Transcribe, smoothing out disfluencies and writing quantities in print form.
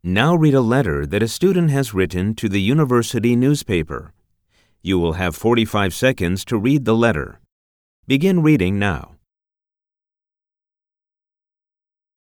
Now read a letter that a student has written to the university newspaper. You will have 45 seconds to read the letter. Begin reading now.